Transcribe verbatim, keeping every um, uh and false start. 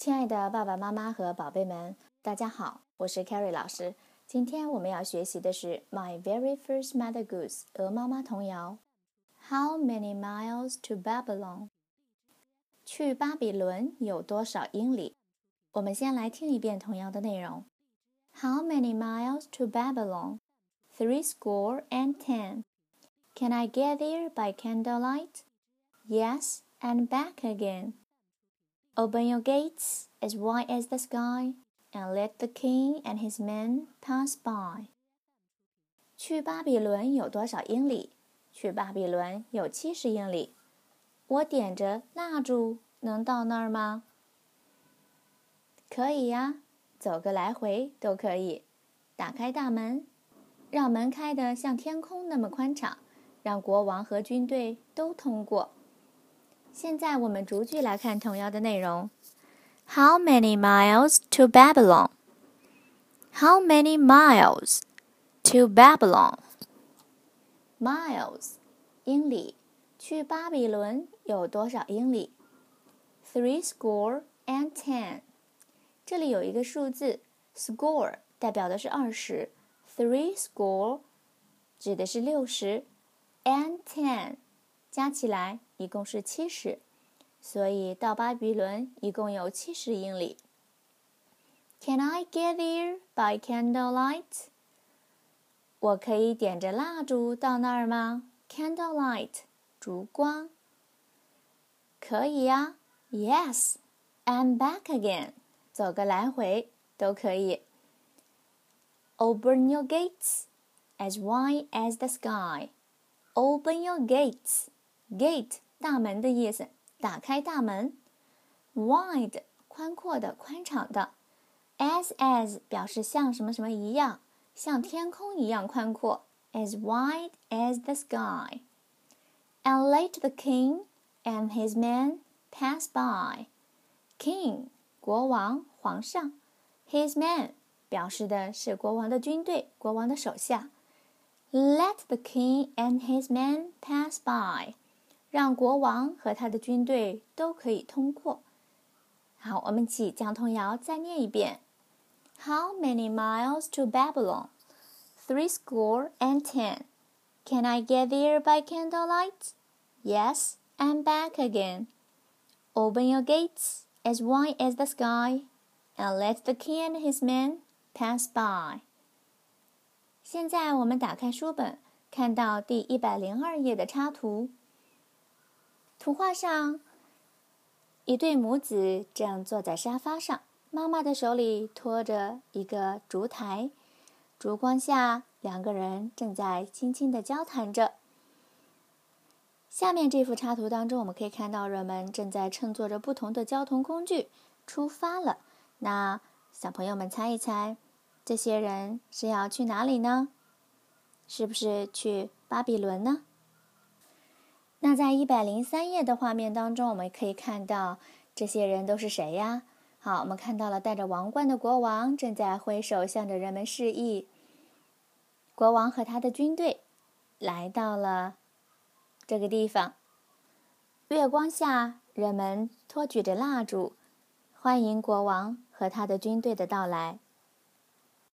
亲爱的爸爸妈妈和宝贝们，大家好，我是 Carrie 老师。今天我们要学习的是 My Very First Mother Goose 鹅妈妈童谣。How many miles to Babylon？ 去巴比伦有多少英里？我们先来听一遍童谣的内容。How many miles to Babylon? Three score and ten. Can I get there by candlelight? Yes, and back again.Open your gates as wide as the sky, and let the king and his men pass by. 去巴比伦有多少英里？去巴比伦有七十英里。我点着蜡烛能到那儿吗？可以呀，走个来回都可以。打开大门，让门开得像天空那么宽敞，让国王和军队都通过。现在我们逐句来看童谣的内容。How many miles to Babylon? How many miles to Babylon? Miles, 英里，去巴比伦有多少英里 ？Three score and ten. 这里有一个数字 score 代表的是二十 ，three score 指的是六十 ，and ten 加起来一共是七十。所以到巴比伦一共有七十英里。Can I get there by candlelight? 我可以点着蜡烛到那儿吗 ？Candlelight， 烛光。可以呀 ，Yes, and back again， 走个来回都可以。Open your gates as wide as the sky. Open your gates, gate 大门的意思。打开大门 ，wide 宽阔的、宽敞的 ，as as 表示像什么什么一样，像天空一样宽阔 ，as wide as the sky. And let the king and his men pass by. King 国王、皇上 ，his men 表示的是国王的军队、国王的手下。Let the king and his men pass by.让国王和他的军队都可以通过。好，我们一起将童谣再念一遍。How many miles to Babylon? Three score and ten. Can I get there by candlelight? Yes, and back again. Open your gates as wide as the sky, and let the king and his men pass by. 现在我们打开书本，看到第一百零二页的插图。图画上，一对母子正坐在沙发上，妈妈的手里托着一个烛台，烛光下，两个人正在轻轻地交谈着。下面这幅插图当中，我们可以看到人们正在乘坐着不同的交通工具出发了。那小朋友们猜一猜，这些人是要去哪里呢？是不是去巴比伦呢？那在一百零三页的画面当中，我们可以看到这些人都是谁呀？好，我们看到了戴着王冠的国王正在挥手向着人们示意。国王和他的军队来到了这个地方。月光下，人们托举着蜡烛，欢迎国王和他的军队的到来。